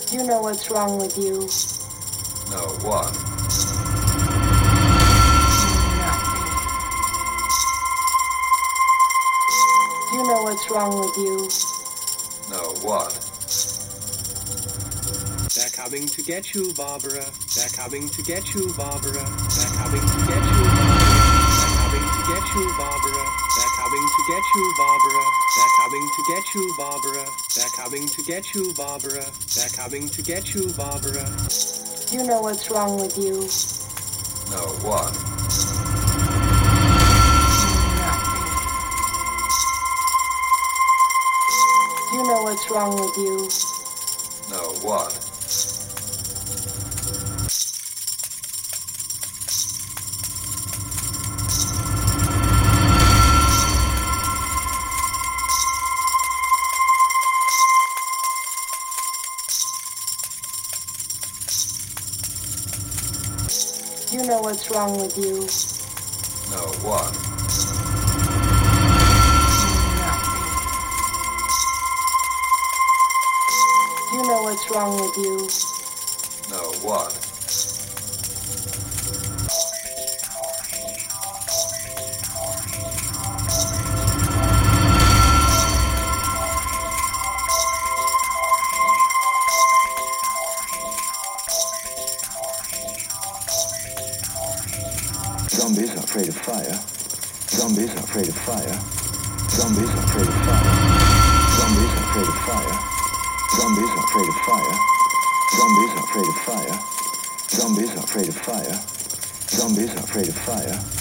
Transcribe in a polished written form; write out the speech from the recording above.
You know what's wrong with you. No, what? You know what's wrong with you. No, what? They're coming to get you, Barbara. They're coming to get you, Barbara. They're coming to get you, Barbara. They're coming to get you, Barbara. They're coming to get you, Barbara. They're coming to get you, Barbara. They're coming to get you, Barbara. They're coming to get you, Barbara. You know what's wrong with you. No, what? You know what's wrong with you. No, what? You know what's wrong with you. No, what? You know what's wrong with you. No, what? Zombies are afraid of fire. Zombies are afraid of fire. Zombies are afraid of fire. Zombies are afraid of fire. Zombies are afraid of fire. Zombies are afraid of fire. Zombies are afraid of fire. Zombies are afraid of fire.